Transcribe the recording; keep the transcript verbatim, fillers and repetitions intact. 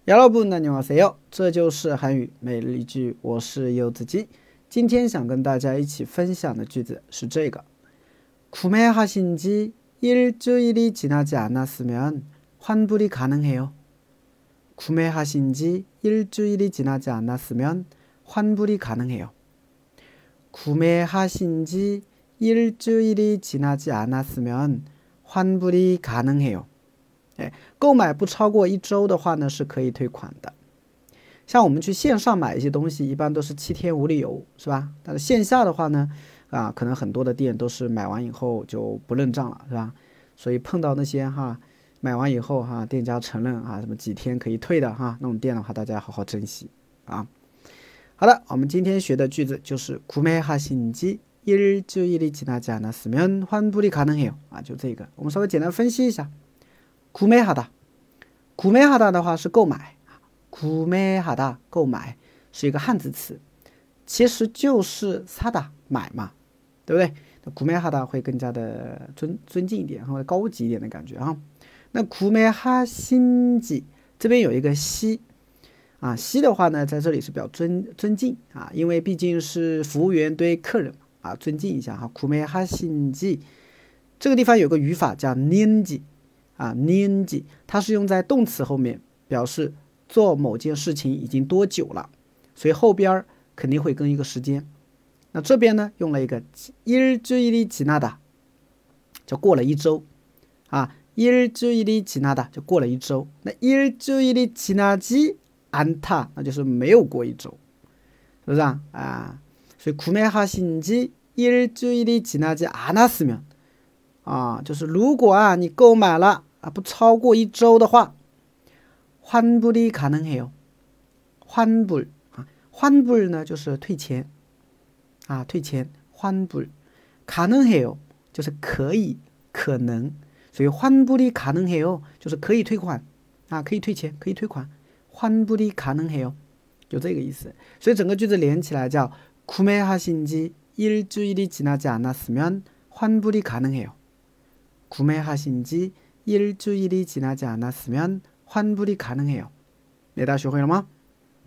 여러분 안녕하세요，这就是韩语每日一句，我是柚子鸡。今天想跟大家一起分享的句子是这个구매하신 지 일주일이 지나지 않았으면 환불이 가능해요. 구매하신 지 일주일이 지나지 않았으면 환불이 가능해요. 구매하신 지 일주일이 지나지 않았으면 환불이 가능해요. 购买不超过一周的话呢，是可以退款的。像我们去线上买一些东西，一般都是七天无理由，是吧？但是线下的话呢，啊，可能很多的店都是买完以后就不认账了，是吧？所以碰到那些哈，买完以后哈，店家承认啊，什么几天可以退的哈，那种店的话，大家要好好珍惜啊。好的，我们今天学的句子就是구매하신 지 일주일이 지나지 않았으면 환불이 가능해요啊，就这个，我们稍微简单分析一下。구매하다， 구매하다的话是购买，구매하다购买是一个汉字词，其实就是사다买嘛，对不对？那구매하다会更加的尊尊敬一点，或者高级一点的感觉啊。那구매하신 지这边有一个시啊，시的话呢，在这里是比较尊尊敬啊，因为毕竟是服务员对客人啊，尊敬一下哈。구매하신 지这个地方有个语法叫년지。啊，년지它是用在动词后面，表示做某件事情已经多久了，所以后边肯定会跟一个时间。那这边呢，用了一个일주일이 지나다，就过了一周啊，일주일이 지나다就过了一周。那일주일이 지나지 않다，那就是没有过一周，是不是啊？啊，所以구매하신 지 일주일이 지나지 않았으면啊，就是如果啊你购买了。啊，不超过一周的话，환불이 가능해요。환불啊，환불呢就是退钱啊，退钱。환불 가능해요就是可以可能，所以환불이 가능해요就是可以退款啊，可以退钱，可以退款。환불이 가능해요就这个意思。所以整个句子连起来叫구매하신 지 일주일이 지나지 않았으면 환불이 가능해요。구매하신 지 일주일이 지나지 않았으면 환불이 가능해요。 大家学会了吗？